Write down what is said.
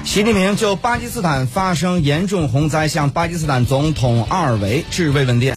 习近平就巴基斯坦发生严重洪灾向巴基斯坦总统阿尔维致慰问电。